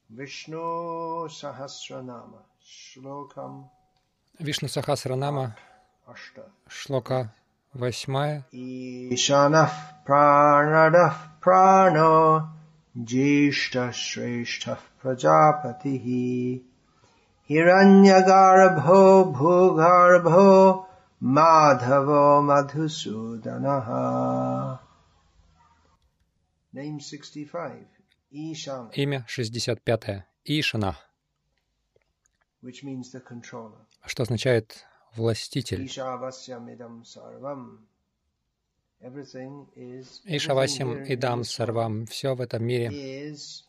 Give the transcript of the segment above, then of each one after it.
Vishnu Sahasranama Shlokam Вишну Сахасранама, Ashta шлока 8. Ishanah Pranadah Prano Jishta Shrestha Prajapatihi Hiranyagarbho Bhugarbho Madhavo Madhusudanaha. Name 65. Ishana, Имя 65. Ишана, which means the controller. что означает властитель. Ishavasya sarvam. Everything is. Ишавасям идам сарвам. Все в этом мире Is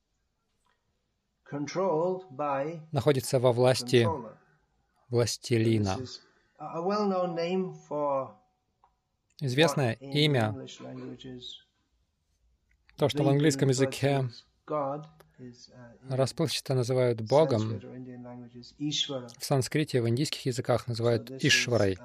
controlled by находится во власти controller. властелина. This is a well-known name for Известное what in имя, English language is то, что в английском языке God, is in расплывчато называют Богом, Sanskrit or Indian languages Ishvara. в санскрите, в индийских языках называют This is, Ишварой.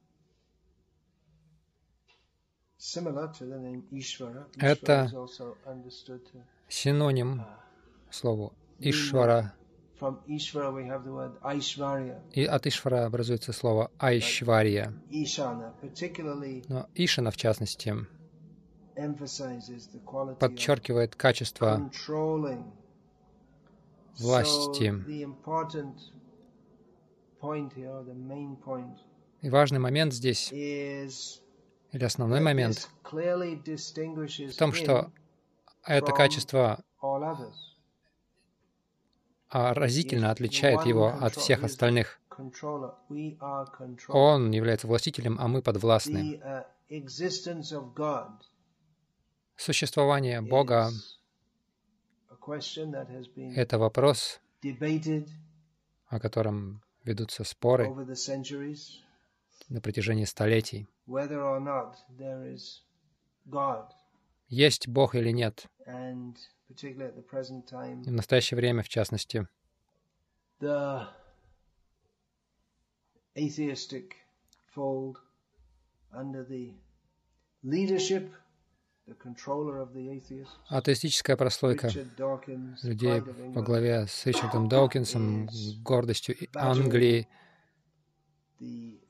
similar to the name Ishvara. Это Ishvara is also understood to синоним слову Ишвара. from Ishvara we have the word Aishvarya. И от Ишвара образуется слово Айшвария. Ishana particularly Но Ишана, в частности, emphasizes the quality of подчеркивает качество controlling. власти. So the important point here, the main point, И важный момент здесь, is или основной that момент, this clearly distinguishes в том, что him это from качество all others. разительно отличает его от всех остальных. Controller. We are controlled. Он является властителем, а мы подвластны. The existence of God Существование Бога is a question that has — been это вопрос, debated о котором ведутся споры over the centuries, на протяжении столетий. whether or not there is God. Есть Бог или нет? And particularly at the present time, И в настоящее время, в частности, the atheistic fold under the leadership, the controller of the atheists, атеистическая прослойка Richard Dawkins, людей Pride of во England, главе с Ричардом Докинсом, гордостью Англии, the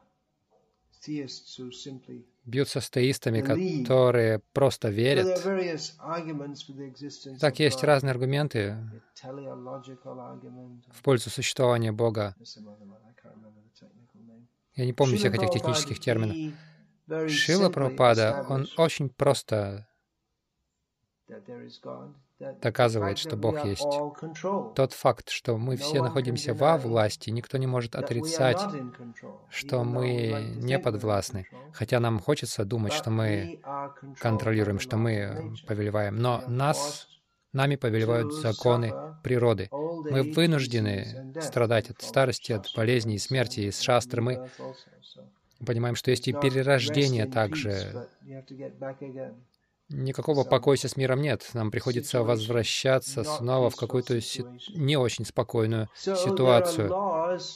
theists who simply бьются с теистами, believe. которые просто So there are верят. various arguments for the existence Так, of есть God. разные аргументы The teleological argument, в пользу существования Бога. there's some other one, I can't remember the technical name. Я не помню всех этих Srila технических Prabhupada, терминов. he very Шрила simply Прабхупада, он established очень просто that there is God, that the доказывает, fact что that we Бог are есть. all controlled, Тот факт, что мы все находимся во власти, никто не может that we are отрицать, not in control, что even though we мы like to не think we're in подвластны. control, Хотя нам хочется думать, but что мы we are controlled by контролируем, the что laws of мы nature. повелеваем. We Но are нами повелевают to законы suffer природы. old Мы age, disease, вынуждены and death. страдать We от follow старости, от Shastra болезней и and смерти. Из new шастры мы birth also. So понимаем, что есть и it's not перерождение rest in peace, также. but you have to get back again. Никакого Some покойся с миром нет. Нам приходится situation, возвращаться not снова в peaceful какую-то situation. не очень спокойную So there are ситуацию. laws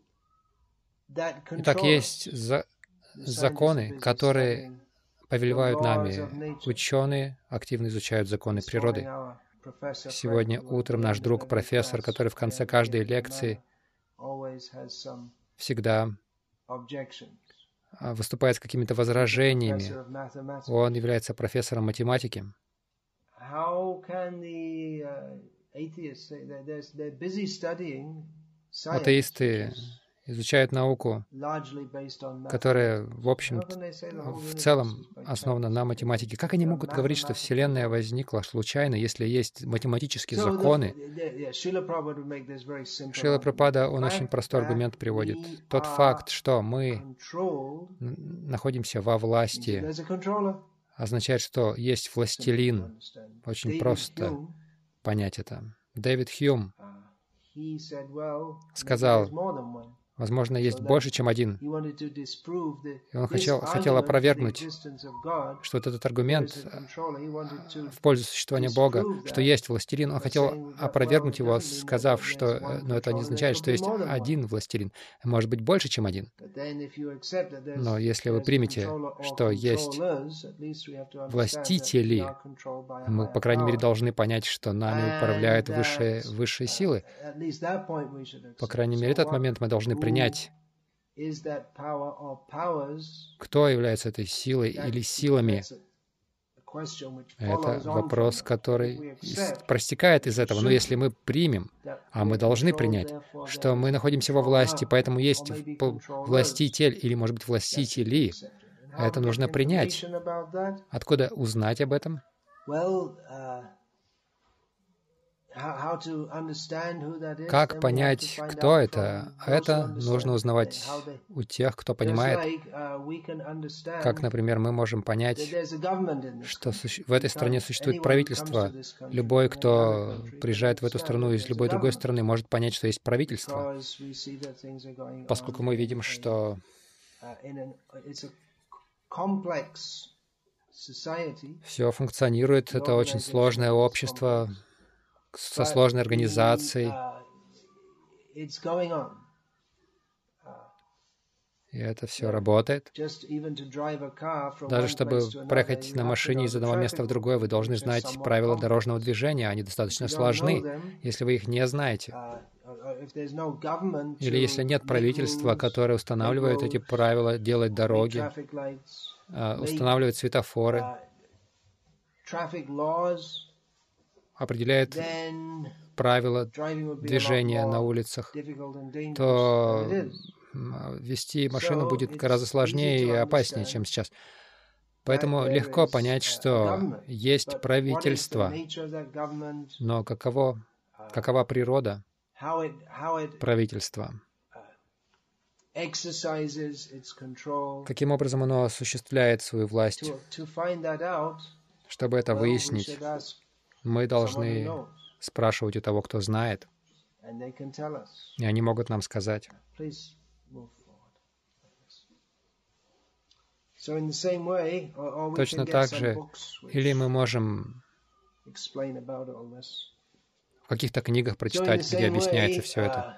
that Итак, control us. есть The законы, scientists are которые studying повелевают the laws нами. of nature. Ученые активно изучают законы This morning природы. our professor Сегодня Fred, who at утром the наш end of друг, every профессор, class, который в конце every каждой day, лекции always has some всегда objections. выступает с какими-то He's a возражениями. professor of mathematics. Он является профессором математики. How can the atheists say that they're busy studying science, Атеисты which is изучают науку, largely based on которая, mathematics? в общем, How can they say the whole в universe целом is by основана на chance? математике. Как It's они a могут говорить, что mathematical Вселенная law. возникла случайно, если есть математические So законы? Srila Prabhupada would make this very simple Шрила argument. Прабхупада, The он очень fact простой that аргумент приводит. we Тот are факт, что мы controlled находимся во means that власти, there's a controller. означает, что есть Simple to властелин. understand. Очень David просто Hume, понять это. Дэвид Хьюм he said, well, maybe сказал, there's more than one. Возможно, есть больше, чем один. И он хотел опровергнуть, что вот этот аргумент в пользу существования Бога, что есть властелин, он хотел опровергнуть его, сказав, что это не означает, что есть один властелин. Может быть, больше, чем один. Но если вы примете, что есть властители, мы, по крайней мере, должны понять, что нами управляют высшие силы. По крайней мере, этот момент мы должны принять, кто является этой силой или силами. Это вопрос, который проистекает из этого. Но если мы примем, а мы должны принять, что мы находимся во власти, поэтому есть властитель или, может быть, властители, это нужно принять. Откуда узнать об этом? Как понять, кто это? Это нужно узнавать у тех, кто понимает. Как, например, мы можем понять, что в этой стране существует правительство. Любой, кто приезжает в эту страну из любой другой страны, может понять, что есть правительство. Поскольку мы видим, что все функционирует, это очень сложное общество, со сложной организацией. И это все работает. Даже чтобы проехать на машине из одного места в другое, вы должны знать правила дорожного движения. Они достаточно сложны, если вы их не знаете. Или если нет правительства, которое устанавливает эти правила, делает дороги, устанавливает светофоры, определяет правила движения на улицах, то вести машину будет гораздо сложнее и опаснее, чем сейчас. Поэтому легко понять, что есть правительство, но какова природа правительства? Каким образом оно осуществляет свою власть? Чтобы это выяснить, мы должны спрашивать у того, кто знает, и они могут нам сказать. Точно так же, или мы можем в каких-то книгах прочитать, где объясняется все это.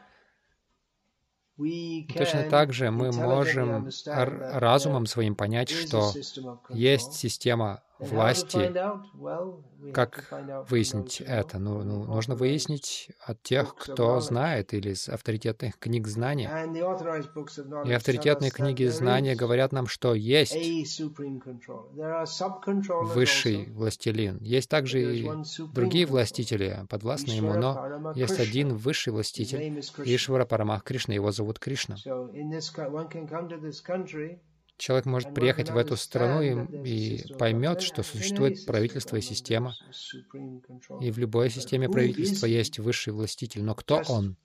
Точно так же мы можем разумом своим понять, что есть система власти. Как выяснить это? Нужно выяснить от тех, кто знает, или из авторитетных книг знания. И авторитетные книги знания говорят нам, что есть высший властелин. Есть также и другие властители, подвластные ему, но есть один высший властитель, Ишвара Парамах Кришна, его зовут Кришна. Человек может приехать в эту страну и поймет, что существует правительство и система. И в любой системе правительства есть высший властитель. Но кто он?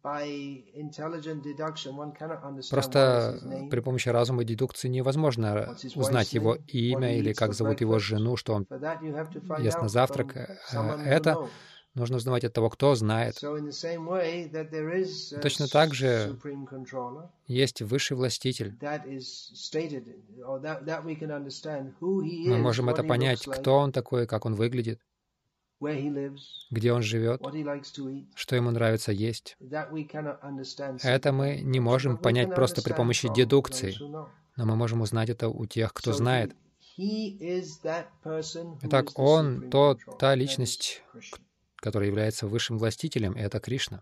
Просто при помощи разума и дедукции невозможно узнать его имя или как зовут его жену, что он ест на завтрак. Это нужно узнавать от того, кто знает. Точно так же есть высший властитель. Мы можем это понять, кто он такой, как он выглядит, где он живет, что ему нравится есть. Это мы не можем понять просто при помощи дедукции, но мы можем узнать это у тех, кто знает. Итак, он та личность, который является высшим властителем, и это Кришна.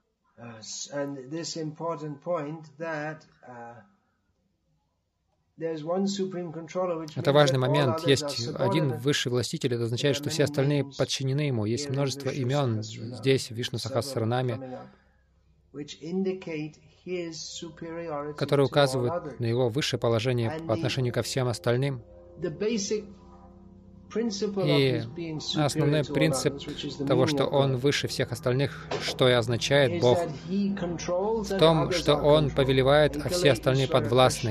Это важный момент. Есть один высший властитель, это означает, что все остальные подчинены ему. Есть множество имен здесь, в Вишну Сахасранаме, которые указывают на его высшее положение по отношению ко всем остальным. И основной принцип того, что он выше всех остальных, что и означает Бог, в том, что он повелевает, а все остальные подвластны.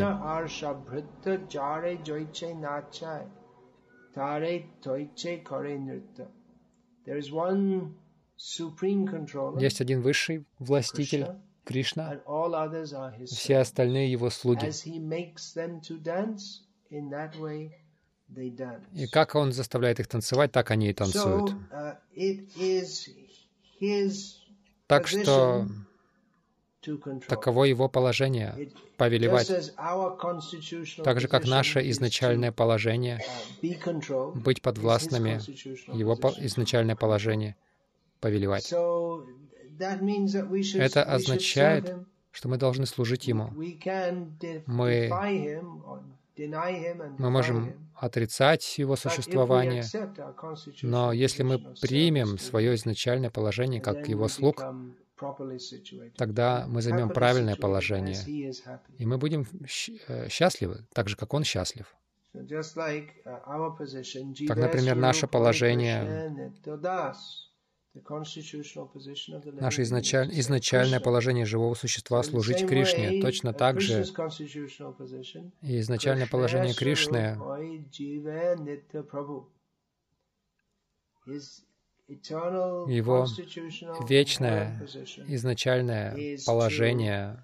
Есть один высший властитель, Кришна, все остальные Его слуги. И как Он заставляет их танцевать, так они и танцуют. Так что таково Его положение — повелевать. Так же, как наше изначальное положение — быть подвластными, Его изначальное положение — повелевать. Это означает, что мы должны служить Ему. Мы можем отрицать Его существование, но если мы примем свое изначальное положение как Его слуг, тогда мы займем правильное положение, и мы будем счастливы, так же, как Он счастлив. Так, например, наше положение, наше изначальное положение живого существа — служить Кришне. Точно так же и изначальное положение Кришны — Его вечное изначальное положение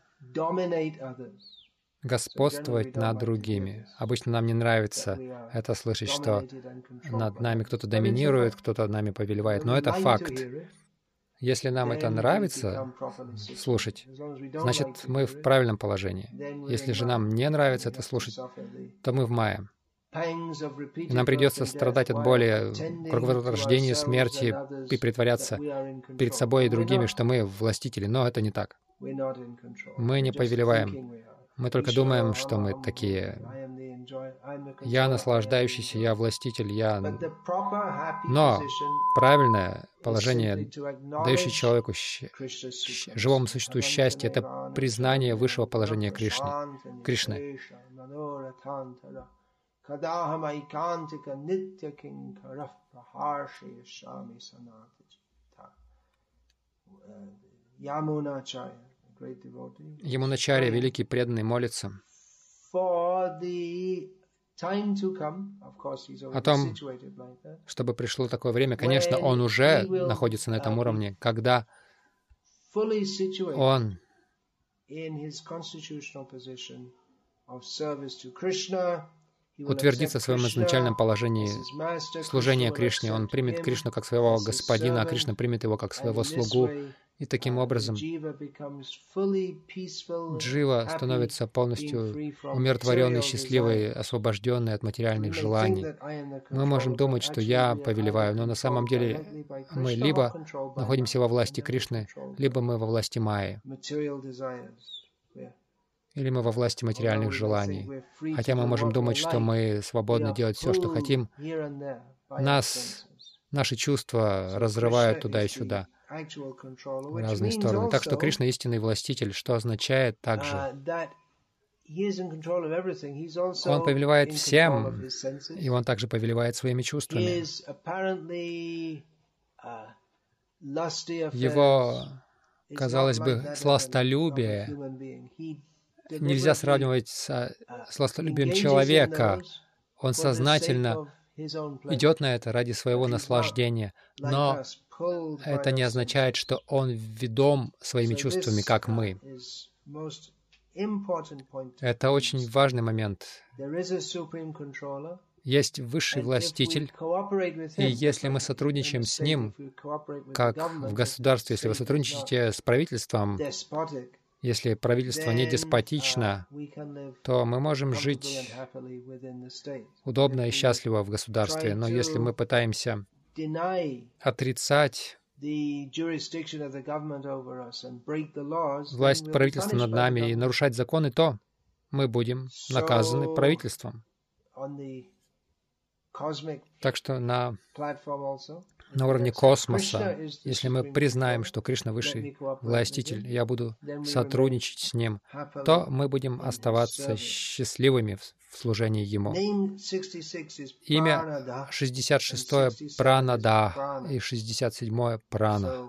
господствовать над другими. Обычно нам не нравится это слышать, что над нами кто-то доминирует, кто-то нами повелевает, но это факт. Если нам это нравится слушать, значит, мы в правильном положении. Если же нам не нравится это слушать, то мы в мае. И нам придется страдать от боли, круговорота рождения, смерти и притворяться перед собой и другими, что мы властители. Но это не так. Мы не повелеваем. Мы только думаем, что мы такие. Я наслаждающийся, я властитель, я... Но правильное положение, дающее человеку, живому существу счастье, это признание высшего положения Кришны. Ямуначарья, великий преданный, молится о том, чтобы пришло такое время. Конечно, он уже находится на этом уровне, когда он утвердится в своем изначальном положении служения Кришне. Он примет Кришну как своего господина, а Кришна примет его как своего слугу. И таким образом джива становится полностью умиротворенной, счастливой, освобожденной от материальных желаний. Мы можем думать, что я повелеваю, но на самом деле мы либо находимся во власти Кришны, либо мы во власти Майи, или мы во власти материальных желаний. Хотя мы можем думать, что мы свободны делать все, что хотим, наши чувства разрывают туда и сюда, в разные стороны. Так что Кришна — истинный властитель, что означает также, Он повелевает всем, и Он также повелевает своими чувствами. Его, казалось бы, сластолюбие нельзя сравнивать с сластолюбием человека. Он сознательно идет на это ради своего наслаждения, но это не означает, что он ведом своими чувствами, как мы. Это очень важный момент. Есть высший властитель, и если мы сотрудничаем с ним, как в государстве, если вы сотрудничаете с правительством, если правительство не деспотично, то мы можем жить удобно и счастливо в государстве. Но если мы пытаемся отрицать власть правительства над нами и нарушать законы, то мы будем наказаны правительством. Так что на уровне космоса, если мы признаем, что Кришна высший властитель, я буду сотрудничать с Ним, то мы будем оставаться счастливыми в служении Ему. Имя 66-е — Пранада и 67-е — Прана.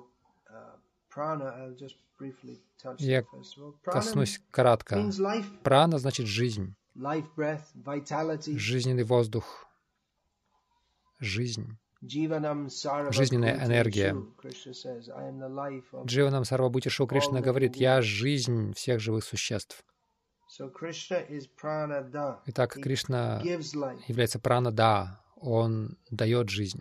Я коснусь кратко. Прана значит жизнь, жизненный воздух, жизнь. жизненная энергия. Дживанам Сарвабхутишу Кришна говорит: «Я жизнь всех живых существ». Итак, Кришна является пранада, Он дает жизнь.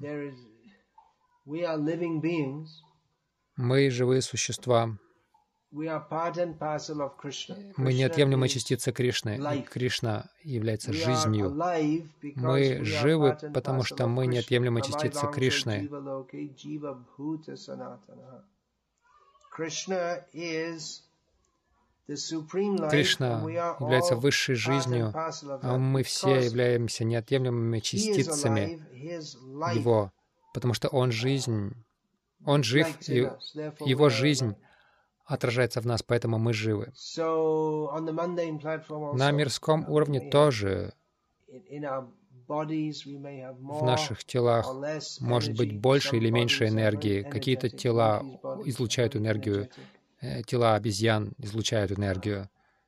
Мы живые существа. Мы неотъемлемая частица Кришны. И Кришна является жизнью. Мы живы, потому что мы неотъемлемая частица Кришны. Кришна является высшей жизнью, а мы все являемся неотъемлемыми частицами Его, потому что Он жизнь, Он жив, и Его жизнь отражается в нас, поэтому мы живы. На мирском уровне тоже в наших телах может быть больше или меньше энергии. Какие-то тела излучают энергию, тела обезьян излучают энергию,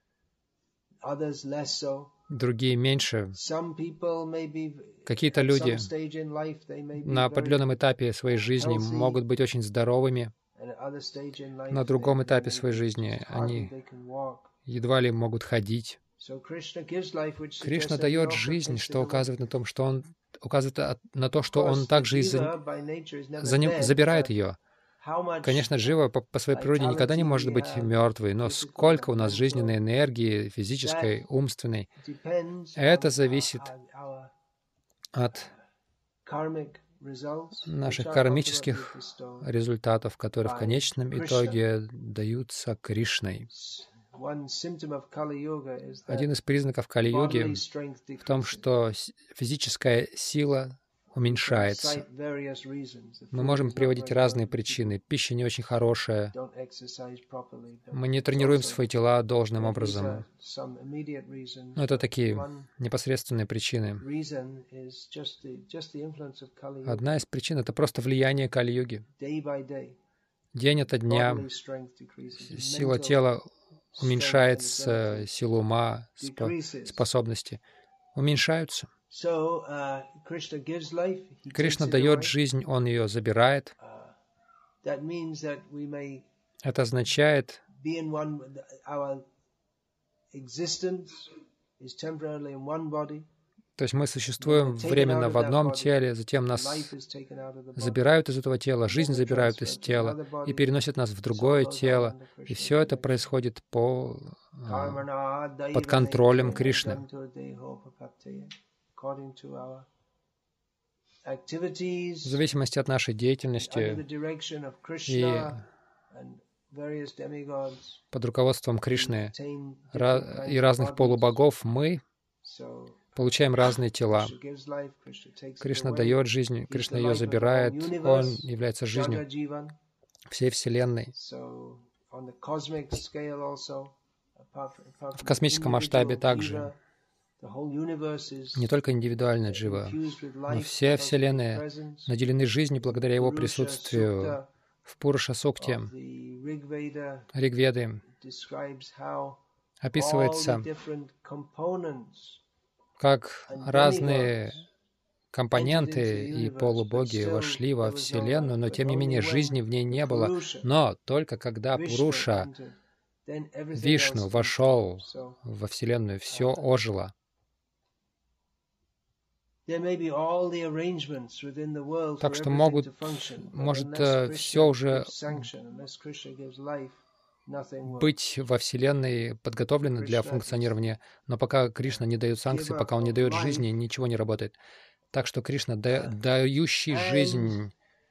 другие меньше. Какие-то люди на определенном этапе своей жизни могут быть очень здоровыми, на другом этапе своей жизни они едва ли могут ходить. Кришна дает жизнь, что указывает на том, что Он указывает на то, что Он также и забирает ее. Конечно, джива по своей природе никогда не может быть мертвой, но сколько у нас жизненной энергии, физической, умственной, это зависит от наших кармических результатов, которые в конечном итоге даются Кришной. Один из признаков Кали-юги в том, что физическая сила уменьшается. Мы можем приводить разные причины. Пища не очень хорошая. Мы не тренируем свои тела должным образом. Но это такие непосредственные причины. Одна из причин — это просто влияние Кали-юги. День ото дня сила тела уменьшается, сила ума, способности уменьшаются. Кришна дает жизнь, Он ее забирает. Это означает, то есть мы существуем временно в одном теле, затем нас забирают из этого тела, жизнь забирают из тела и переносят нас в другое тело. И все это происходит под контролем Кришны. В зависимости от нашей деятельности и под руководством Кришны и разных полубогов мы получаем разные тела. Кришна дает жизнь, Кришна ее забирает, Он является жизнью всей Вселенной. В космическом масштабе также. Не только индивидуально джива, но все Вселенные наделены жизнью благодаря Его присутствию. В Пуруша-сукте Ригведы описывается, как разные компоненты и полубоги вошли во Вселенную, но тем не менее жизни в ней не было. Но только когда Пуруша, Вишну, вошел во Вселенную, все ожило. Так что может все уже быть во Вселенной подготовлено для функционирования, но пока Кришна не дает санкций, пока Он не дает жизни, ничего не работает. Так что Кришна, дающий жизнь,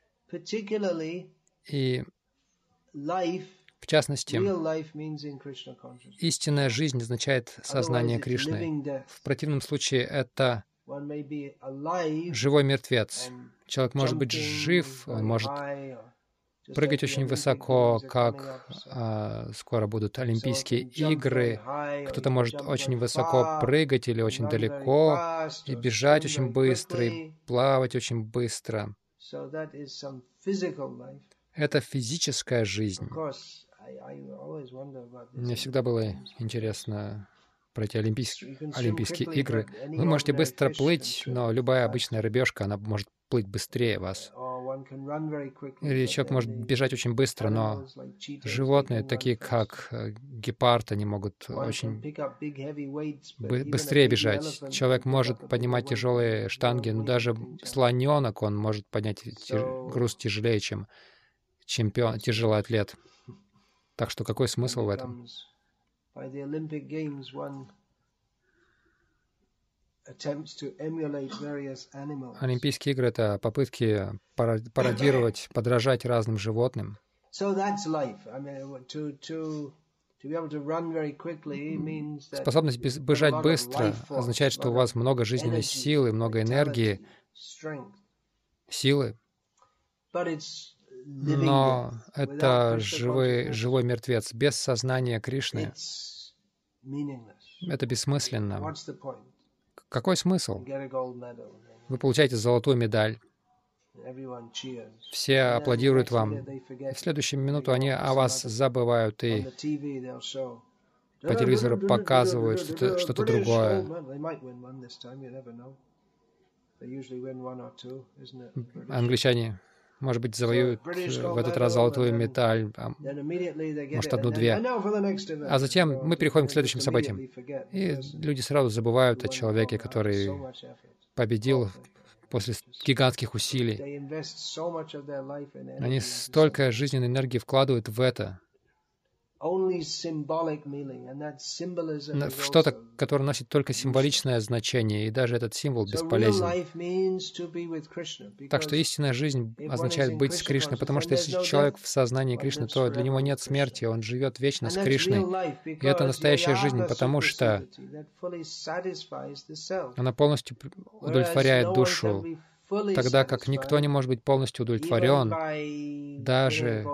и в частности, истинная жизнь означает сознание Кришны. В противном случае это живой мертвец. Человек может быть жив, он может прыгать очень высоко, как скоро будут Олимпийские игры. Кто-то может очень высоко прыгать или очень далеко, и бежать очень быстро, и плавать очень быстро. Это физическая жизнь. Мне всегда было интересно про эти Олимпийские игры. Вы можете быстро плыть, но любая обычная рыбешка, она может плыть быстрее вас. Или человек может бежать очень быстро, но животные, такие как гепард, они могут очень быстрее бежать. Человек может поднимать тяжелые штанги, но даже слоненок, он может поднять груз тяжелее, чем тяжелый атлет. Так что какой смысл в этом? Олимпийские игры — это попытки пародировать, подражать разным животным. Способность бежать быстро означает, что у вас много жизненной силы, много энергии, силы. Но это живой мертвец. Без сознания Кришны это бессмысленно. Какой смысл? Вы получаете золотую медаль. Все аплодируют вам. И в следующую минуту они о вас забывают и по телевизору показывают что-то другое. Англичане, может быть, завоюют в этот раз золотую медаль, может, одну-две. А затем мы переходим к следующим событиям. И люди сразу забывают о человеке, который победил после гигантских усилий. Они столько жизненной энергии вкладывают в это, в что-то, которое носит только символичное значение, и даже этот символ бесполезен. Так что истинная жизнь означает быть с Кришной, потому что если человек в сознании Кришны, то для него нет смерти, он живет вечно с Кришной. И это настоящая жизнь, потому что она полностью удовлетворяет душу, тогда как никто не может быть полностью удовлетворен, даже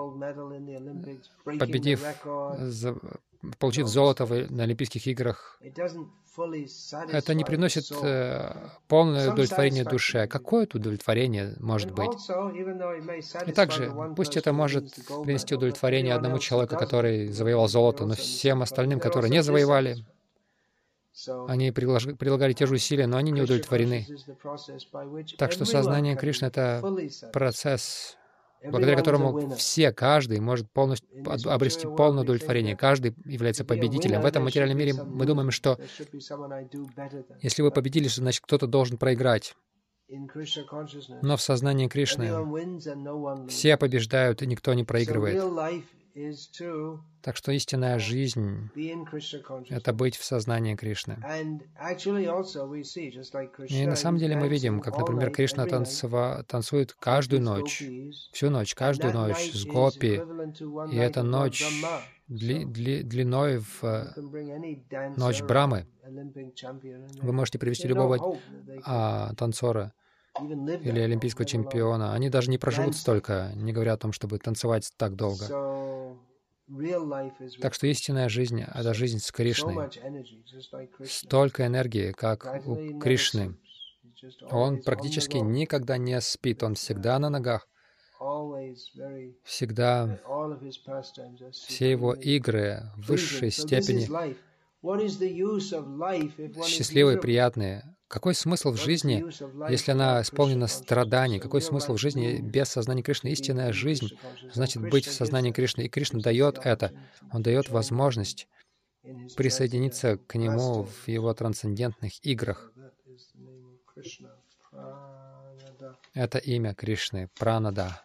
получив золото на Олимпийских играх. Это не приносит полное удовлетворение душе. Какое это удовлетворение может быть? И также, пусть это может принести удовлетворение одному человеку, который завоевал золото, но всем остальным, которые не завоевали, они прилагали те же усилия, но они не удовлетворены. Так что сознание Кришны — это процесс, благодаря которому каждый может полностью обрести полное удовлетворение. Каждый является победителем. В этом материальном мире мы думаем, что если вы победили, значит кто-то должен проиграть. Но в сознании Кришны все побеждают, и никто не проигрывает. Так что истинная жизнь — это быть в сознании Кришны. И на самом деле мы видим, как, например, Кришна танцует каждую ночь, всю ночь, каждую ночь с гопи, и эта ночь длиной в ночь Брамы. Вы можете привести любого танцора или олимпийского чемпиона. Они даже не проживут столько, не говоря о том, чтобы танцевать так долго. Так что истинная жизнь — это жизнь с Кришной. Столько энергии, как у Кришны. Он практически никогда не спит, он всегда на ногах. Всегда все его игры в высшей степени счастливые, приятные. Какой смысл в жизни, если она исполнена страданий? Какой смысл в жизни без сознания Кришны? Истинная жизнь значит быть в сознании Кришны. И Кришна дает это. Он дает возможность присоединиться к Нему в Его трансцендентных играх. Это имя Кришны — Пранада.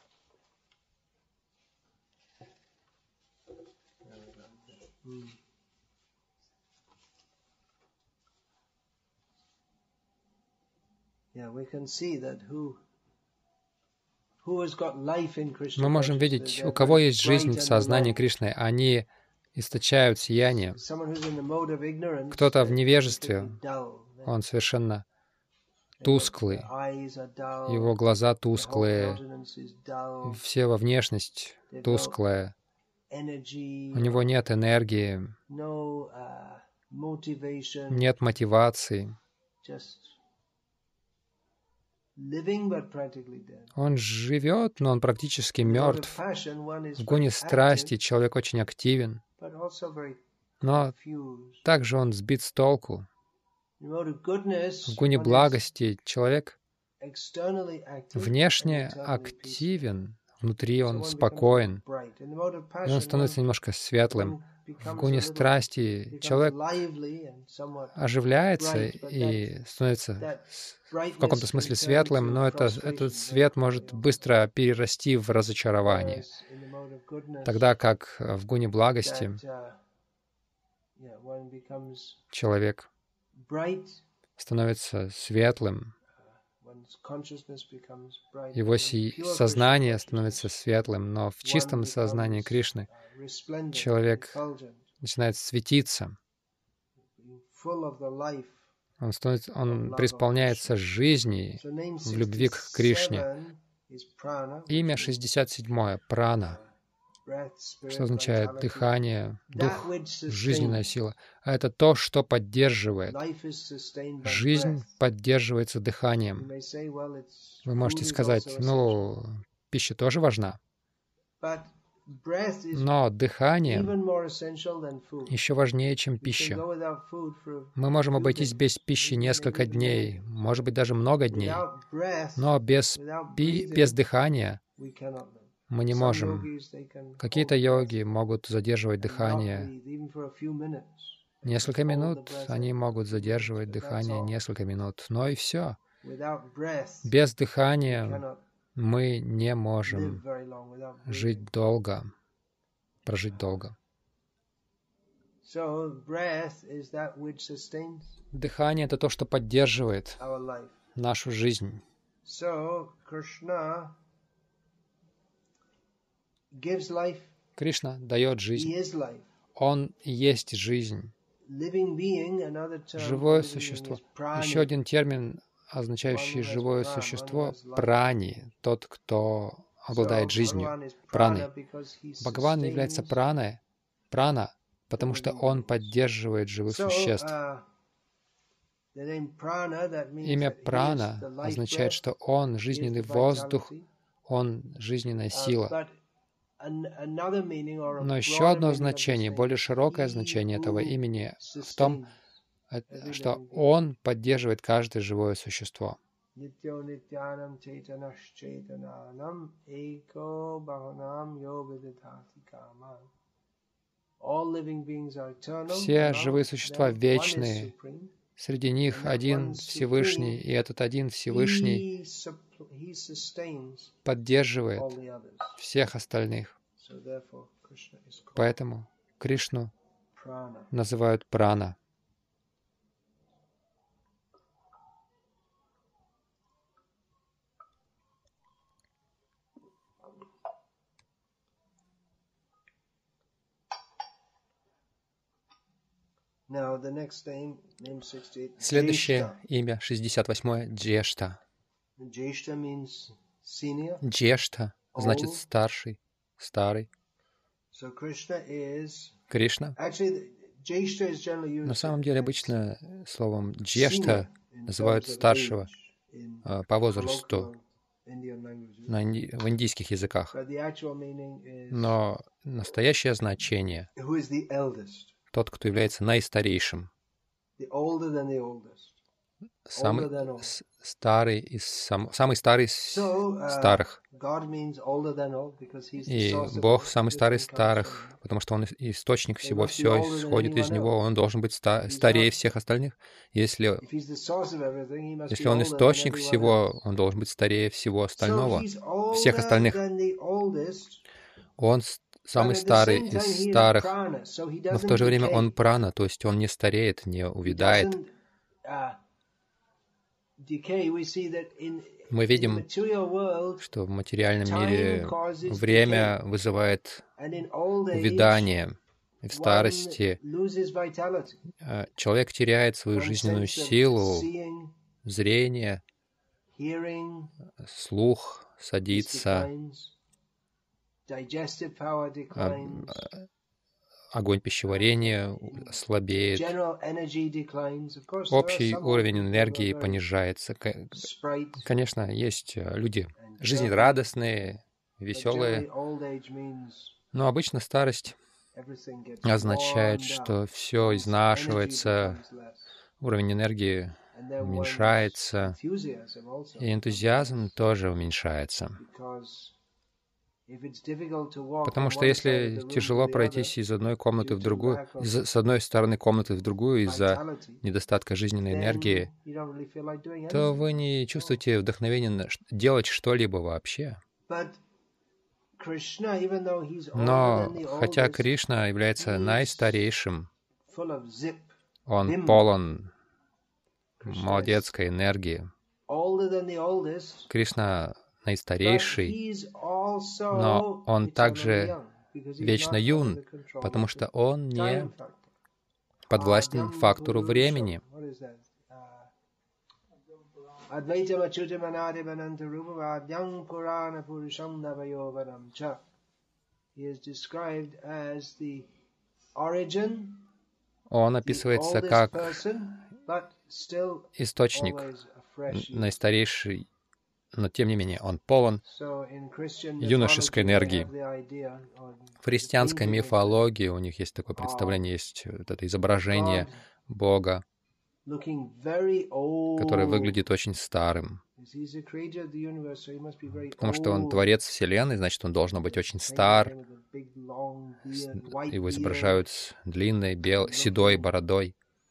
Мы можем видеть, у кого есть жизнь в сознании Кришны, они источают сияние. Кто-то в невежестве, он совершенно тусклый, его глаза тусклые, все во внешность тусклая, у него нет энергии, нет мотивации. Он живет, но он практически мертв. В гуне страсти человек очень активен, но также он сбит с толку. В гуне благости человек внешне активен, внутри он спокоен, и он становится немножко светлым. В гуне страсти человек оживляется и становится в каком-то смысле светлым, но этот свет может быстро перерасти в разочарование. Тогда как в гуне благости человек становится светлым, его сознание становится светлым, но в чистом сознании Кришны человек начинает светиться. Он преисполняется жизнью в любви к Кришне. Имя 67 — прана, что означает дыхание, дух, жизненная сила. А это то, что поддерживает. Жизнь поддерживается дыханием. Вы можете сказать, пища тоже важна. Но дыхание еще важнее, чем пища. Мы можем обойтись без пищи несколько дней, может быть, даже много дней. Но без дыхания мы не можем. Какие-то йоги могут задерживать дыхание несколько минут, они могут задерживать дыхание несколько минут, но и все. Без дыхания мы не можем жить долго, прожить долго. Дыхание — это то, что поддерживает нашу жизнь. Кришна дает жизнь. Он есть жизнь. Живое существо. Еще один термин, означающий живое существо — прани, тот, кто обладает жизнью, праной. Бхагаван является прана, потому что он поддерживает живых существ. Имя прана означает, что он — жизненный воздух, он — жизненная сила. Но еще одно значение, более широкое значение этого имени в том, что он поддерживает каждое живое существо. Все живые существа вечные. Среди них один Всевышний, и этот один Всевышний поддерживает всех остальных. Поэтому Кришну называют прана. Следующее имя, 68-е, Джешта. Джешта значит старший, старый. Кришна. На самом деле обычно словом Джешта называют старшего по возрасту в индийских языках. Но настоящее значение — тот, кто является наистарейшим, самый старый из старых. И Бог самый старый из старых, потому что Он источник всего, все исходит из Него, Он должен быть старее всех остальных. Если Он источник всего, Он должен быть старее всего остального, всех остальных. Он самый старый из старых, но в то же время он прана, то есть он не стареет, не увядает. Мы видим, что в материальном мире время вызывает увядание. И в старости человек теряет свою жизненную силу, зрение, слух садится, огонь пищеварения слабеет, общий уровень энергии понижается. Конечно, есть люди жизнерадостные, веселые, но обычно старость означает, что все изнашивается, уровень энергии уменьшается, и энтузиазм тоже уменьшается. Потому что если тяжело пройтись из одной комнаты в другую, с одной стороны комнаты в другую из-за недостатка жизненной энергии, то вы не чувствуете вдохновения делать что-либо вообще. Но хотя Кришна является наистарейшим, он полон молодецкой энергии. Кришна наистарейший, но он также вечно юн, потому что он не подвластен фактору времени. Он описывается как источник, наистарейший, но тем не менее он полон юношеской энергии. В христианской мифологии у них есть такое представление, есть вот это изображение Бога, который выглядит очень старым. Потому что он творец Вселенной, значит, он должен быть очень стар. Его изображают с длинной, седой бородой.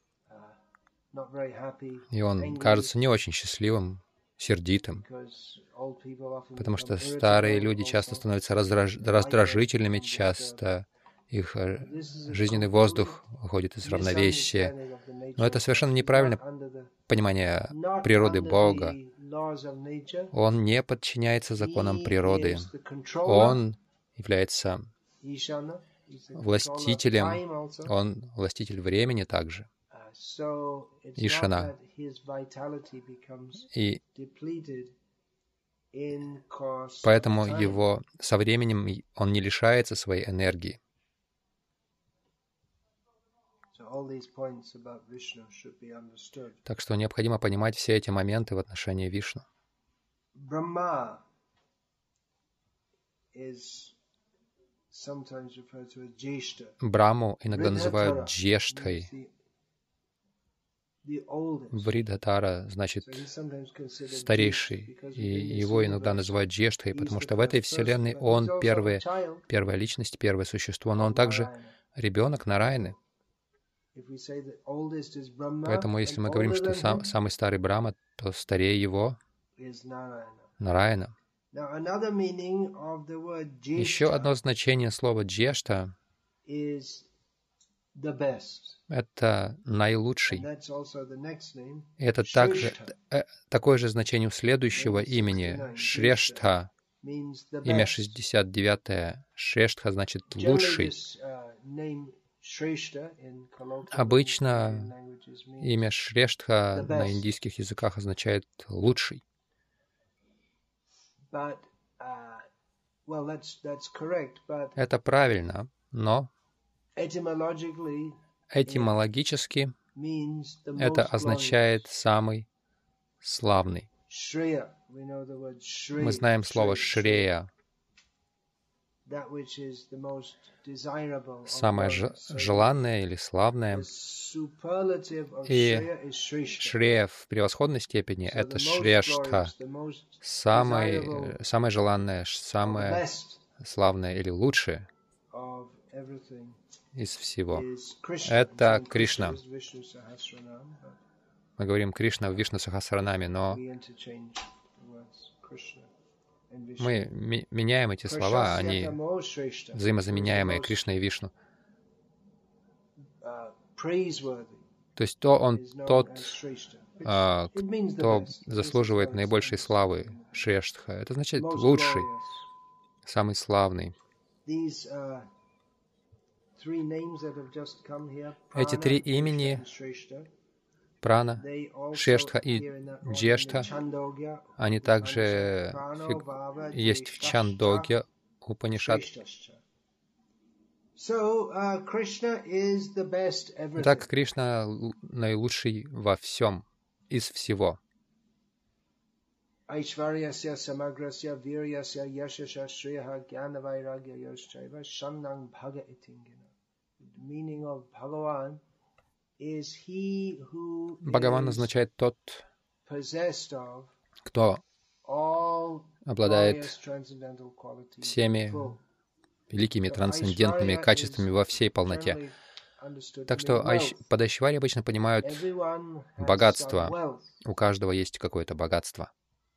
И он кажется не очень счастливым, сердитым. Потому что старые люди часто становятся раздражительными, часто их жизненный воздух уходит из равновесия. Но это совершенно неправильное понимание природы Бога. Он не подчиняется законам природы. Он является властителем, он властитель времени также. Ишана. И поэтому его со временем он не лишается своей энергии. Так что необходимо понимать все эти моменты в отношении Вишну. Браму иногда называют Джештхой. Вридхатара значит старейший, и его иногда называют Джештхой, потому что в этой вселенной он первая личность, первое существо, но он также ребенок Нараяны. Поэтому, если мы говорим, что самый старый Брахма, то старее его Нараяна. Еще одно значение слова «джешта» — это наилучший. Это также такое же значение у следующего имени — Шрештха. Имя 69-е. Шрештха значит «лучший». Обычно имя Шрештха на индийских языках означает «лучший». Это правильно, но этимологически это означает «самый славный». Мы знаем слово «шрея». Самое желанное или славное. И шрея в превосходной степени — это шрештха. Самое желанное, самое славное или лучшее из всего — это Кришна. Мы говорим Кришна в Вишну Сахасранаме, но мы меняем эти слова, они взаимозаменяемые, Кришна и Вишну. То есть тот, кто заслуживает наибольшей славы, Шрештха. Это значит лучший, самый славный. Эти три имени — Прана, Шрештха и Джештха, они также есть в Чандогья Упанишад. Так Кришна наилучший во всем, из всего. Бхагаван означает тот, кто обладает всеми великими трансцендентными качествами во всей полноте. Так что под Айшварьей обычно понимают богатство. У каждого есть какое-то богатство.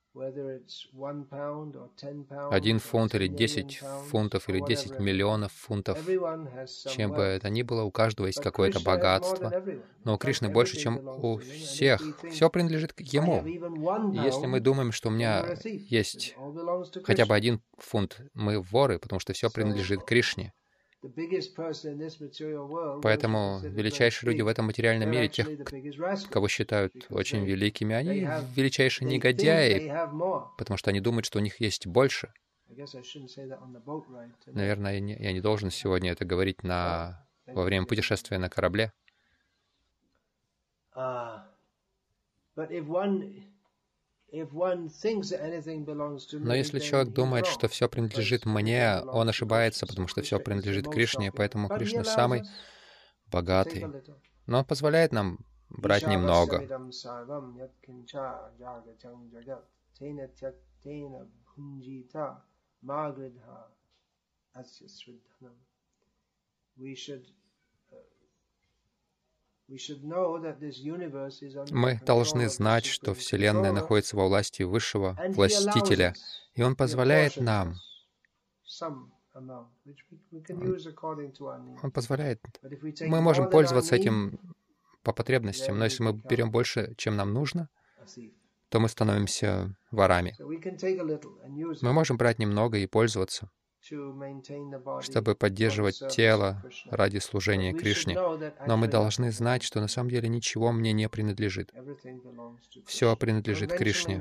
1 фунт или 10 фунтов или 10 миллионов фунтов. Чем бы это ни было, у каждого есть какое-то богатство. Но у Кришны больше, чем у всех. Все принадлежит Ему. И если мы думаем, что у меня есть хотя бы 1 фунт, мы воры, потому что все принадлежит Кришне. Поэтому величайшие люди в этом материальном мире, тех, кого считают очень великими, они величайшие негодяи, потому что они думают, что у них есть больше. Наверное, я не должен сегодня это говорить во время путешествия на корабле. Но если человек думает, что все принадлежит мне, он ошибается, потому что все принадлежит Кришне, поэтому Кришна самый богатый. Но он позволяет нам брать немного. Мы должны знать, что Вселенная находится во власти Высшего Властителя, и Он позволяет нам. Он позволяет. Мы можем пользоваться этим по потребностям, но если мы берем больше, чем нам нужно, то мы становимся ворами. Мы можем брать немного и пользоваться, чтобы поддерживать тело ради служения Кришне. Но мы должны знать, что на самом деле ничего мне не принадлежит. Все принадлежит Кришне.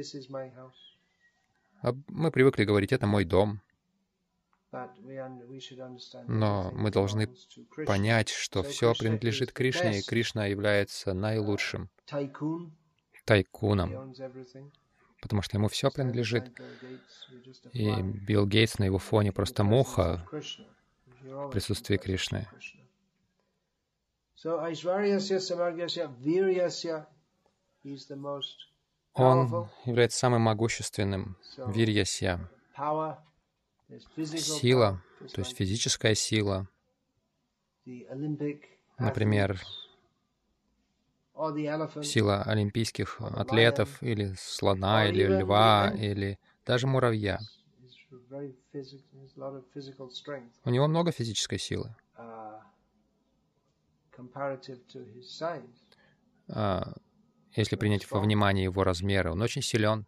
Мы привыкли говорить, это мой дом. Но мы должны понять, что все принадлежит Кришне, и Кришна является наилучшим тайкуном, потому что ему все принадлежит. И Билл Гейтс на его фоне просто муха в присутствии Кришны. Он является самым могущественным. Вирьясья. Сила, то есть физическая сила. Например, сила олимпийских атлетов, или слона, или льва, или даже муравья. У него много физической силы. Если принять во внимание его размеры, он очень силен.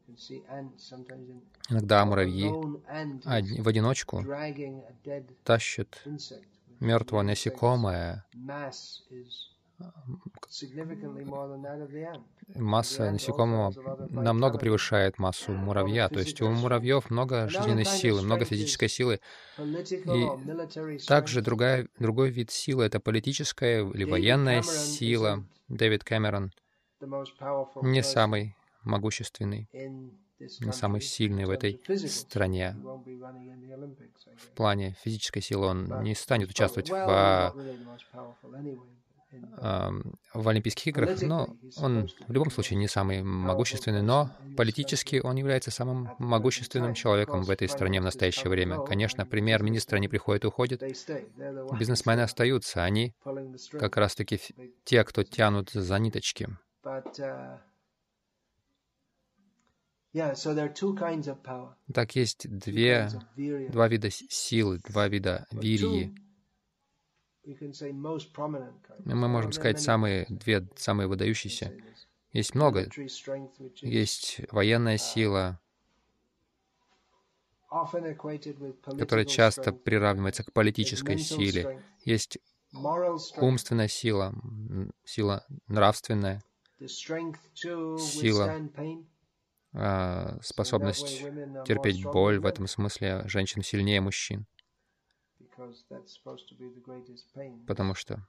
Иногда муравьи в одиночку тащат мертвое насекомое. Масса насекомого намного превышает массу муравья. То есть у муравьев много жизненной силы, много физической силы. И также другой вид силы — это политическая или военная сила. Дэвид Кэмерон не самый могущественный, не самый сильный в этой стране. В плане физической силы он не станет участвовать в Олимпийских играх, но он в любом случае не самый могущественный, но политически он является самым могущественным человеком в этой стране в настоящее время. Конечно, премьер-министр не приходит и уходит, бизнесмены остаются, они как раз-таки те, кто тянут за ниточки. Так есть два вида силы, два вида вирьи. Мы можем сказать самые выдающиеся. Есть много. Есть военная сила, которая часто приравнивается к политической силе. Есть умственная сила, сила нравственная, сила, способность терпеть боль. В этом смысле женщин сильнее мужчин. Потому что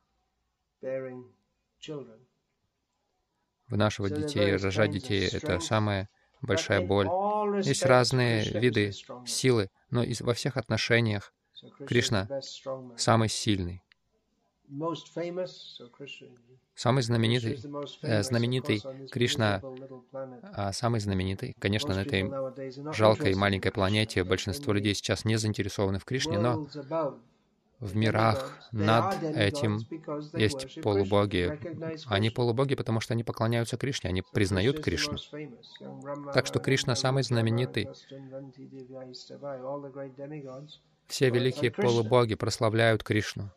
вынашивать детей, рожать детей — это самая большая боль. Есть разные виды силы, но во всех отношениях Кришна самый сильный. Самый знаменитый Кришна, самый знаменитый, конечно, на этой жалкой маленькой планете большинство людей сейчас не заинтересованы в Кришне, но в мирах над этим есть полубоги. Они полубоги, потому что они поклоняются Кришне, они признают Кришну. Так что Кришна самый знаменитый. Все великие полубоги прославляют Кришну.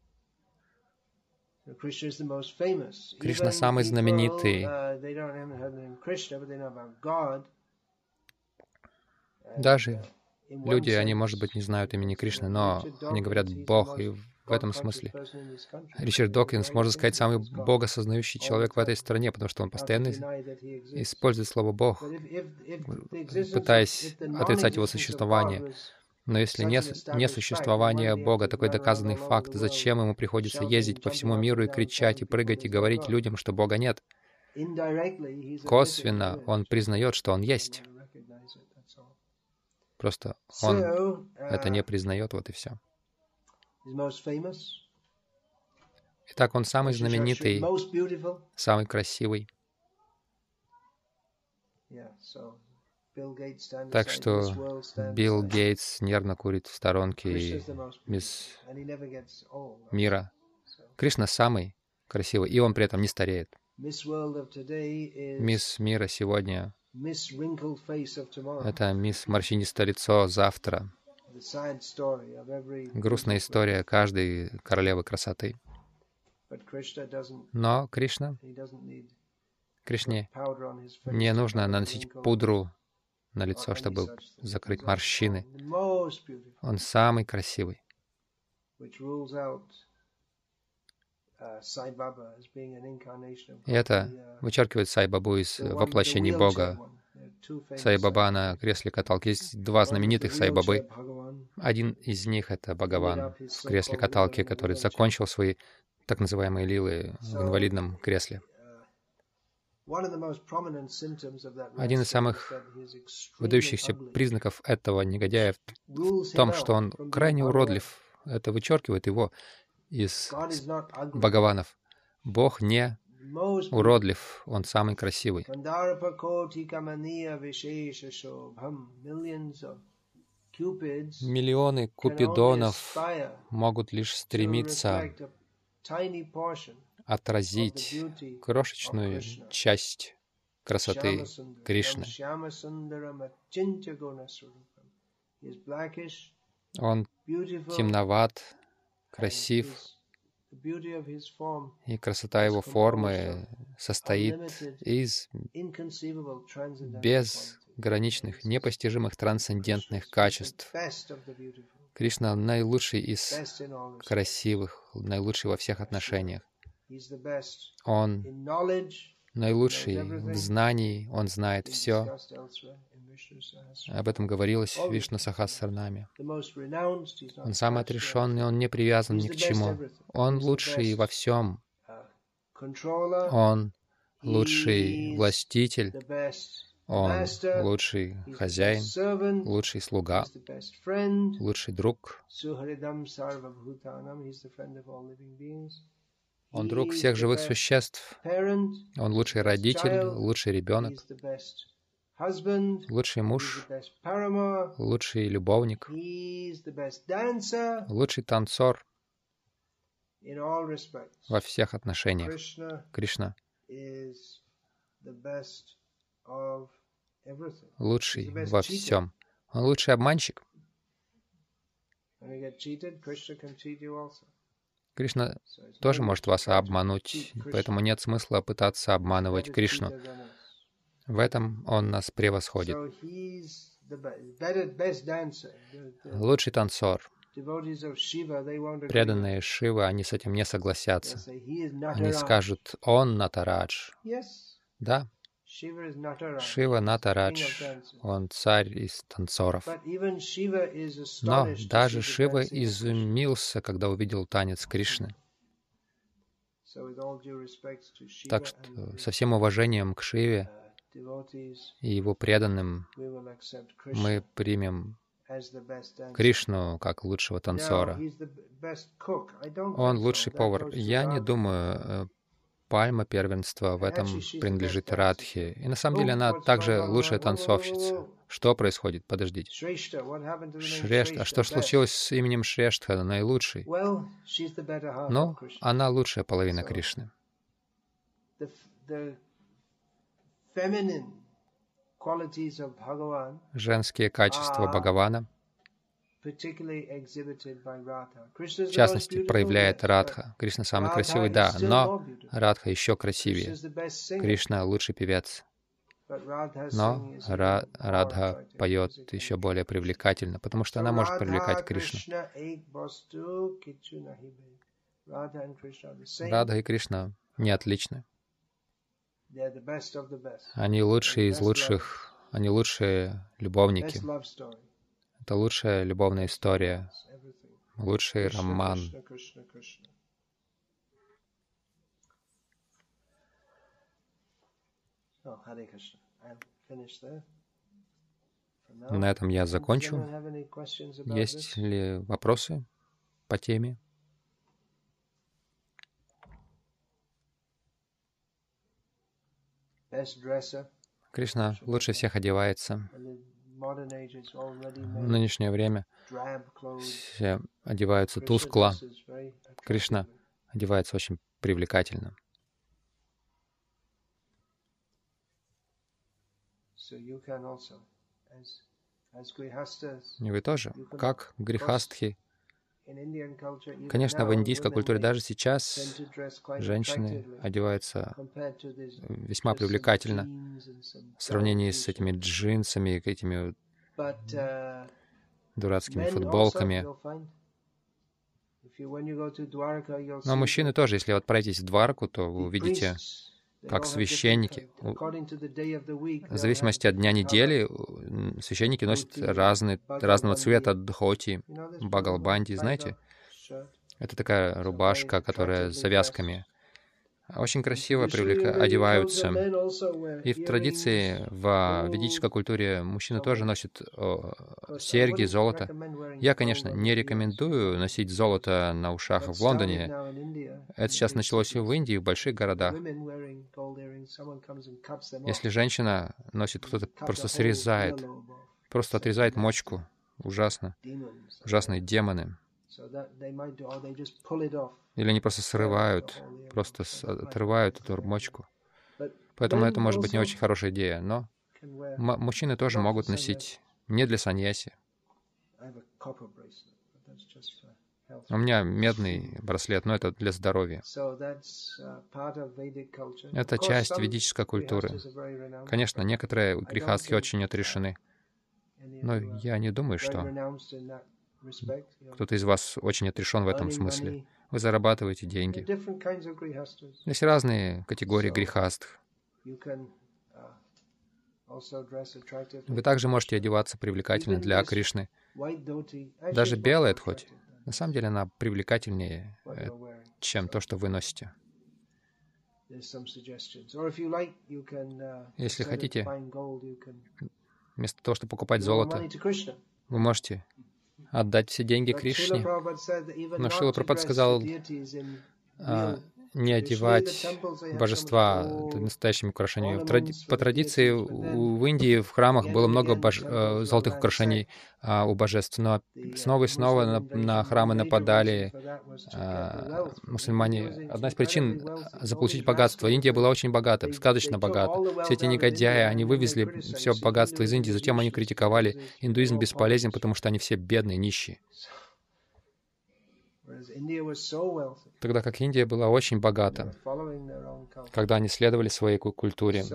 Кришна самый знаменитый. Даже люди, они, может быть, не знают имени Кришны, но они говорят «Бог», и в этом смысле Ричард Докинс, можно сказать, самый богосознающий человек в этой стране, потому что он постоянно использует слово «Бог», пытаясь отрицать его существование. Но если не существование Бога, такой доказанный факт, зачем ему приходится ездить по всему миру и кричать, и прыгать, и говорить людям, что Бога нет? Косвенно он признает, что Он есть. Просто он это не признает, вот и все. Итак, он самый знаменитый, самый красивый. Так что Билл Гейтс нервно курит в сторонке, и мисс Мира. Кришна самый красивый, и он при этом не стареет. Мисс Мира сегодня — это мисс Морщинистое лицо завтра. Грустная история каждой королевы красоты. Но Кришне не нужно наносить пудру на лицо, чтобы закрыть морщины. Он самый красивый. И это вычеркивает Сай-Бабу из воплощений Бога. Сай-Баба на кресле каталки. Есть два знаменитых Сай-Бабы. Один из них — это Бхагаван в кресле каталки, который закончил свои так называемые лилы в инвалидном кресле. Один из самых выдающихся признаков этого негодяя в том, что он крайне уродлив. Это вычеркивает его из Бхагаванов. Бог не уродлив, Он самый красивый. Миллионы купидонов могут лишь стремиться отразить крошечную часть красоты Кришны. Он темноват, красив, и красота его формы состоит из безграничных, непостижимых трансцендентных качеств. Кришна наилучший из красивых, наилучший во всех отношениях. Он наилучший в знании, Он знает все. Об этом говорилось в Вишну Сахасранаме. Он самый отрешенный, Он не привязан ни к чему. Он лучший во всем. Он лучший властитель. Он лучший хозяин, лучший слуга, лучший друг. Он друг всех живых существ. Он лучший родитель, лучший ребенок, лучший муж, лучший любовник, лучший танцор во всех отношениях. Кришна лучший во всем. Он лучший обманщик. Кришна тоже может вас обмануть, поэтому нет смысла пытаться обманывать Кришну. В этом Он нас превосходит. Лучший танцор. Преданные Шивы, они с этим не согласятся. Они скажут, Он Натарадж. Да, Шива Натарадж, Он царь из танцоров. Но даже Шива изумился, когда увидел танец Кришны. Так что со всем уважением к Шиве и его преданным мы примем Кришну как лучшего танцора. Он лучший повар. Я не думаю, пальма первенства в этом принадлежит Радхе. И на самом деле она также лучшая танцовщица. Что происходит? Подождите. Шрештха. А что случилось с именем Шрештха, наилучший? Ну, она лучшая половина Кришны. Женские качества Бхагавана, в частности, проявляет Радха. Кришна самый красивый, да, но Радха еще красивее. Кришна лучший певец. Но Радха поет еще более привлекательно, потому что она может привлекать Кришну. Радха и Кришна не отличны. Они лучшие из лучших, они лучшие любовники. Это лучшая любовная история, лучший роман. На этом я закончу. Есть ли вопросы по теме? Кришна лучше всех одевается. В нынешнее время все одеваются тускло. Кришна одевается очень привлекательно. И вы тоже, как грихастхи. Конечно, в индийской культуре даже сейчас женщины одеваются весьма привлекательно в сравнении с этими джинсами, этими дурацкими футболками. Но мужчины тоже, если вы отправитесь в Дварку, то вы увидите, как священники, в зависимости от дня недели, священники носят разного цвета дхоти, багалбанди, знаете? Это такая рубашка, которая с завязками. Очень красиво одеваются. И в традиции, в ведической культуре мужчины тоже носят серьги, золото. Я, конечно, не рекомендую носить золото на ушах в Лондоне. Это сейчас началось и в Индии, в больших городах. Если женщина носит, кто-то просто срезает, просто отрезает мочку. Ужасно. Ужасные демоны. Или они просто срывают, просто отрывают эту мочку. Поэтому это может быть не очень хорошая идея. Но мужчины тоже могут носить не для саньяси. У меня медный браслет, но это для здоровья. Это часть ведической культуры. Конечно, некоторые грехастхи очень отрешены. Но я не думаю, что кто-то из вас очень отрешен в этом смысле. Вы зарабатываете деньги. Есть разные категории грехастх. Вы также можете одеваться привлекательно для Кришны. Даже белая дхоти. На самом деле она привлекательнее, чем то, что вы носите. Если хотите, вместо того, чтобы покупать золото, вы можете отдать все деньги Кришне. Но Шрила Прабхупада сказал, не одевать божества настоящими украшениями. По традиции в Индии в храмах было много золотых украшений у божеств, но снова и снова на храмы нападали мусульмане. Одна из причин заполучить богатство. Индия была очень богата, сказочно богата. Все эти негодяи, они вывезли все богатство из Индии, затем они критиковали, индуизм бесполезен, потому что они все бедные, нищие. Тогда как Индия была очень богата, когда они следовали своей культуре.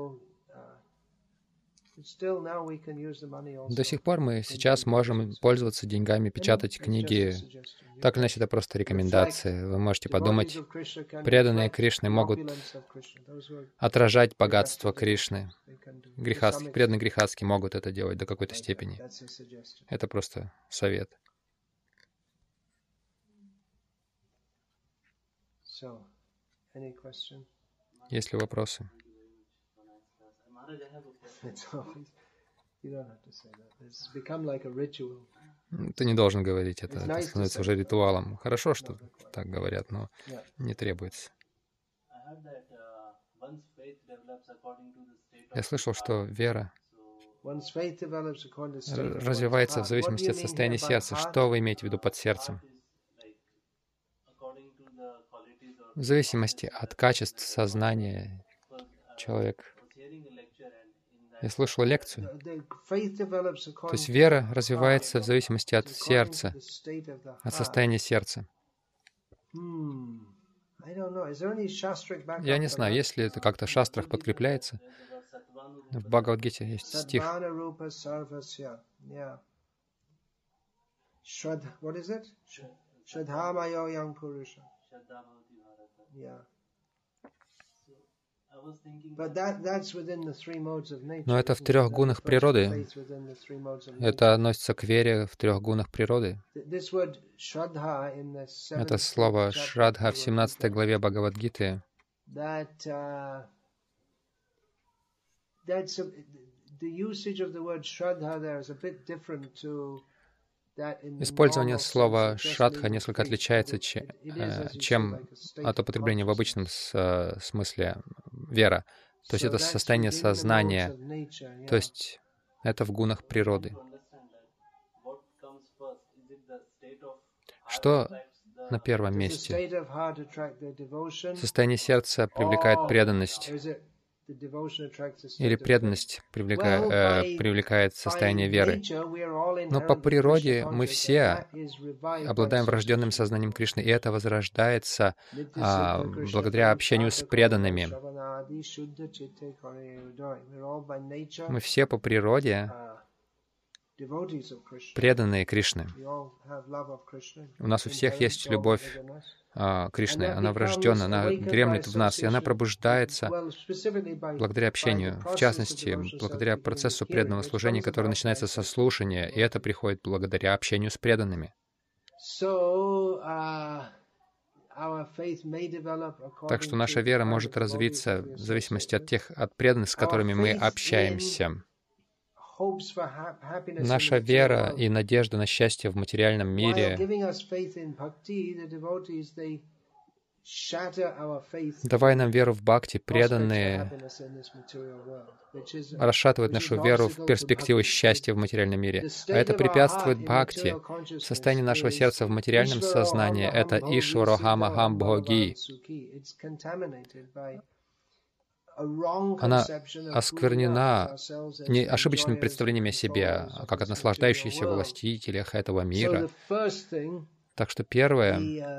До сих пор мы сейчас можем пользоваться деньгами, печатать книги. Так или иначе, это просто рекомендации. Вы можете подумать, преданные Кришны могут отражать богатство Кришны. Преданные грехастхи могут это делать до какой-то степени. Это просто совет. Есть ли вопросы? Ты не должен говорить это становится уже ритуалом. Хорошо, что так говорят, но не требуется. Я слышал, что вера развивается в зависимости от состояния сердца. Что вы имеете в виду под сердцем? В зависимости от качеств сознания человека. Я слышал лекцию. То есть вера развивается в зависимости от сердца, от состояния сердца. Я не знаю, если это как-то в шастрах подкрепляется. В Бхагавад-гите есть стих. Но это в трех гунах природы. Это относится к вере в трех гунах природы. Это слово «шрадха» в 17 главе Бхагавад-гиты. Использование слова «шрадха» несколько отличается, чем от употребления в обычном смысле «вера». То есть это состояние сознания, то есть это в гунах природы. Что на первом месте? Состояние сердца привлекает преданность. Или преданность привлекает состояние веры. Но по природе мы все обладаем врожденным сознанием Кришны, и это возрождается благодаря общению с преданными. Мы все по природе преданные Кришны. У нас у всех есть любовь Кришны, она врожденна, она дремлет в нас, и она пробуждается благодаря общению, в частности, благодаря процессу преданного служения, который начинается со слушания, и это приходит благодаря общению с преданными. Так что наша вера может развиться в зависимости от преданных, с которыми мы общаемся. Наша вера и надежда на счастье в материальном мире, давая нам веру в бхакти, преданные расшатывают нашу веру в перспективу счастья в материальном мире. А это препятствует бхакти. Состояние нашего сердца в материальном сознании — это ишварохамахам бхоги. Она осквернена ошибочными представлениями о себе, как о наслаждающихся властителях этого мира. Так что первое,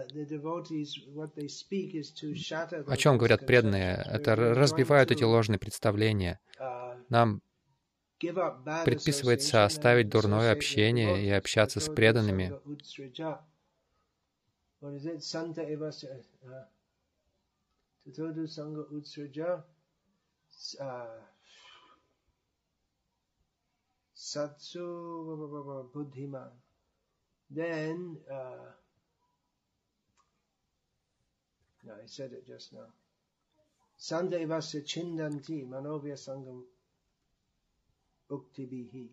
о чем говорят преданные, это разбивают эти ложные представления. Нам предписывается оставить дурное общение и общаться с преданными. Satsu buddhiman. Then, no, I said it just now. Sandevasya chindanti manovya sangam uktibihi.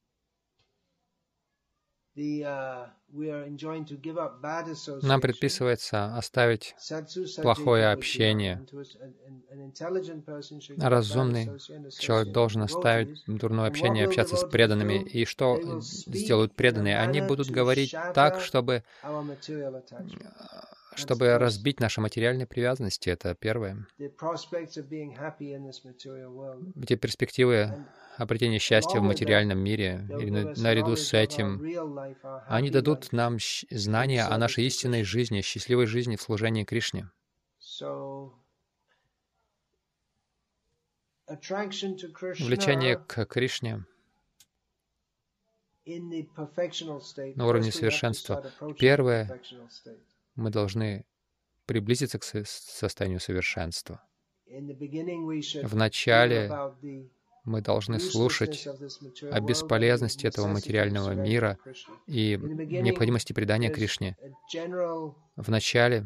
Нам предписывается оставить плохое общение. Разумный человек должен оставить дурное общение и общаться с преданными. И что сделают преданные? Они будут говорить так, чтобы разбить наши материальные привязанности. Это первое. Эти перспективы обретения счастья в материальном мире, и наряду с этим, они дадут нам знания о нашей истинной жизни, счастливой жизни в служении Кришне. Влечение к Кришне на уровне совершенства. Первое, мы должны приблизиться к состоянию совершенства. Вначале мы должны слушать о бесполезности этого материального мира и необходимости предания Кришне. Вначале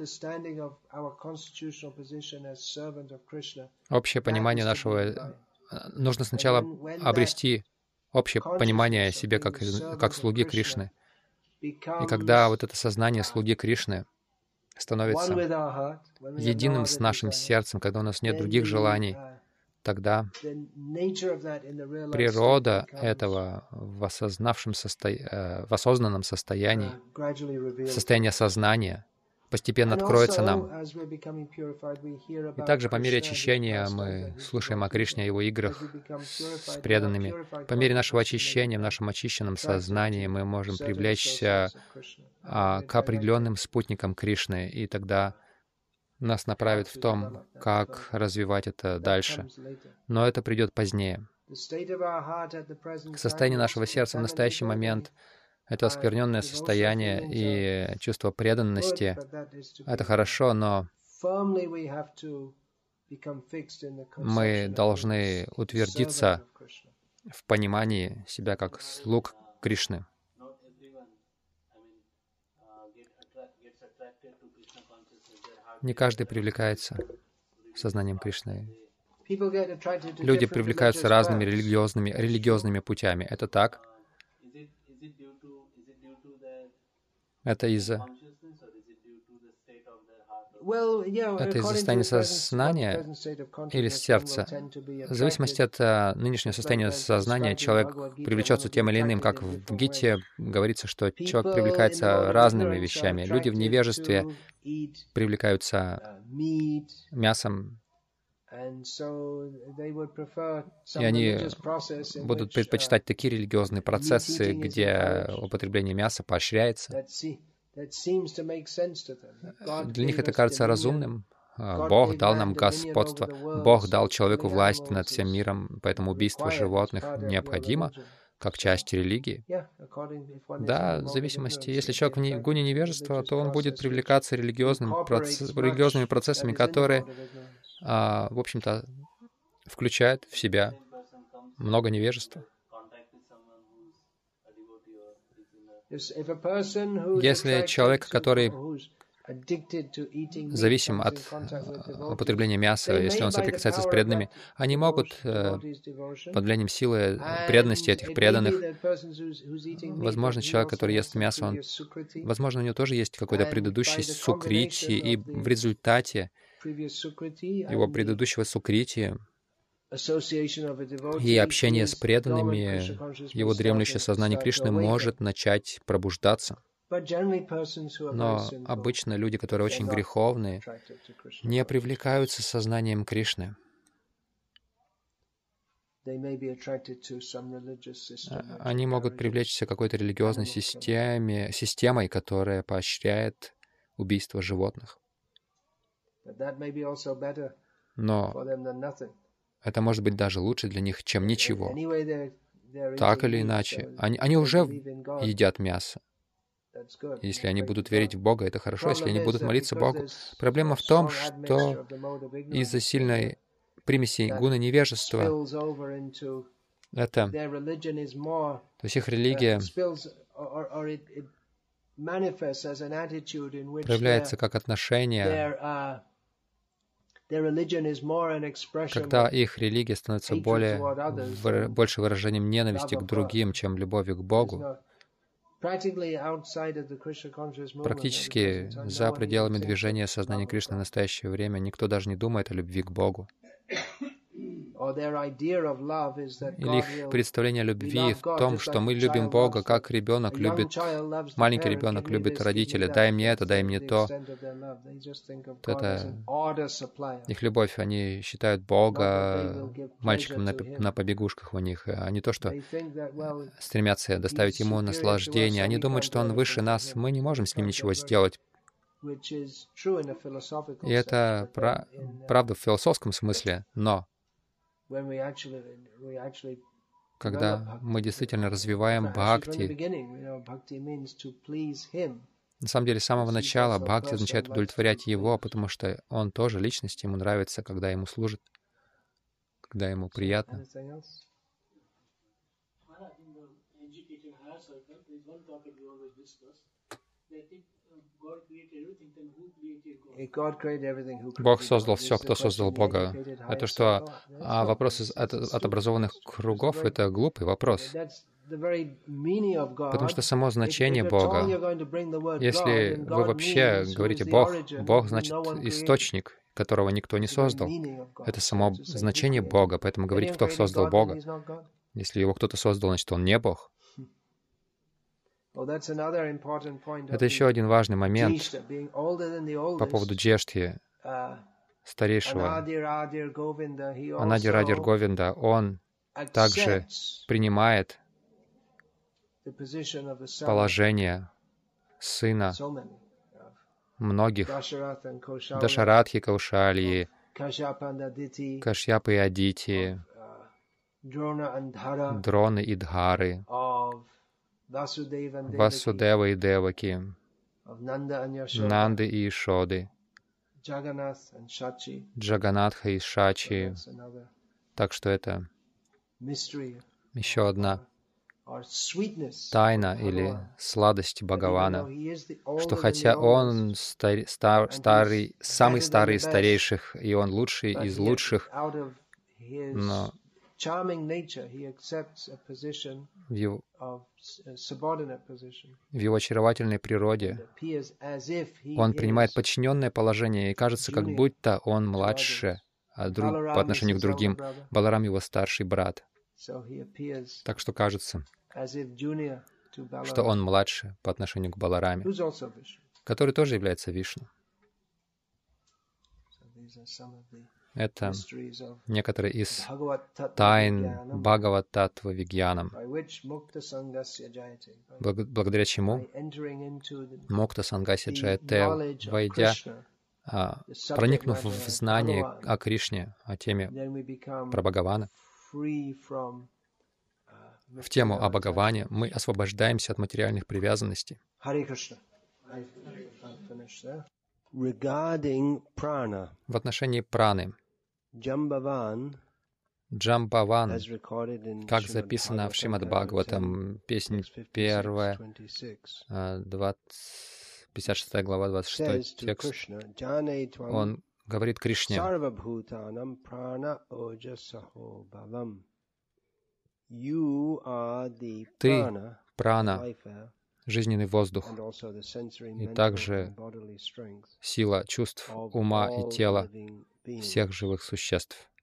общее понимание нужно сначала обрести общее понимание о себе как слуги Кришны. И когда вот это сознание слуги Кришны становится единым с нашим сердцем, когда у нас нет других желаний, тогда природа этого в осознанном состоянии, в состоянии сознания, постепенно откроется нам. И также по мере очищения мы слушаем о Кришне, о Его играх с преданными. По мере нашего очищения, в нашем очищенном сознании мы можем привлечься к определенным спутникам Кришны, и тогда нас направит в том, как развивать это дальше. Но это придет позднее. Состояние нашего сердца в настоящий момент — это оскверненное состояние и чувство преданности. Это хорошо, но мы должны утвердиться в понимании себя как слуг Кришны. Не каждый привлекается сознанием Кришны. Люди привлекаются разными религиозными путями. Это так? Это из-за состояния сознания или сердца? В зависимости от нынешнего состояния сознания человек привлечется тем или иным. Как в Гите говорится, что человек привлекается разными вещами. Люди в невежестве привлекаются мясом, и они будут предпочитать такие религиозные процессы, где употребление мяса поощряется. Для них это кажется разумным. Бог дал нам господство. Бог дал человеку власть над всем миром, поэтому убийство животных необходимо как часть религии. Да, в зависимости. Если человек в гуне невежества, то он будет привлекаться религиозными процессами, которые, в общем-то, включают в себя много невежества. Если человек, который зависим от употребления мяса, если он соприкасается с преданными, они могут под влиянием силы преданности этих преданных, возможно, человек, который ест мясо, возможно, у него тоже есть какой-то предыдущий сукрити, и в результате его предыдущего сукрити и общение с преданными, его дремлющее сознание Кришны может начать пробуждаться. Но обычно люди, которые очень греховные, не привлекаются сознанием Кришны. Они могут привлечься какой-то религиозной системой, которая поощряет убийство животных. Но это может быть даже лучше для них, чем ничего. Так или иначе, они уже едят мясо. Если они будут верить в Бога, это хорошо. Если они будут молиться Богу. Проблема в том, что из-за сильной примеси гуна невежества, то есть их религия проявляется как отношение, когда их религия становится больше выражением ненависти к другим, чем любовью к Богу. Практически за пределами движения сознания Кришны в настоящее время никто даже не думает о любви к Богу. Или их представление о любви в том, что мы любим Бога, как ребенок любит, маленький ребенок любит родителя. Дай мне это, дай мне то. Это их любовь. Они считают Бога мальчиком на побегушках у них, а не то, что стремятся доставить Ему наслаждение. Они думают, что Он выше нас, мы не можем с Ним ничего сделать. И это правда в философском смысле, но когда мы действительно развиваем бхакти, на самом деле, с самого начала бхакти означает удовлетворять Его, потому что Он тоже личность, Ему нравится, когда Ему служит, когда Ему приятно. Бог создал все, кто создал Бога. Это что? А вопрос от образованных кругов — это глупый вопрос. Потому что само значение Бога, если вы вообще говорите «Бог», Бог значит источник, которого никто не создал. Это само значение Бога, поэтому говорить, кто создал Бога. Если его кто-то создал, значит, он не Бог. Это еще один важный момент по поводу Джештхи, старейшего. Анади Радир Говинда, он также принимает положение сына многих, Дашаратхи, Каушалии, Кашьяпы и Адити, Дроны и Дхары, Васудева и Деваки, Нанды и Ишоды, Джаганатха и Шачи. Так что это еще одна тайна или сладость Бхагавана, что хотя Он самый старый из старейших, и Он лучший из лучших, но в его очаровательной природе Он принимает подчиненное положение, и кажется, как будто Он младше по отношению к другим. Баларам — его старший брат. Так что кажется, что он младше по отношению к Балараме, который тоже является Вишну. Это некоторые из тайн Бхагават-таттва Вигьянам, благодаря чему Мокта Сангасья Джаяте, войдя, проникнув в знание о Кришне, о теме про Бхагавана, в тему о Бхагаване, мы освобождаемся от материальных привязанностей. В отношении праны, Джамбаван, как записано в Шримад Бхагаватам, песнь 1, 56 глава, 26 текст, он говорит Кришне: «Ты — прана, жизненный воздух, и также сила чувств, ума и тела всех живых существ».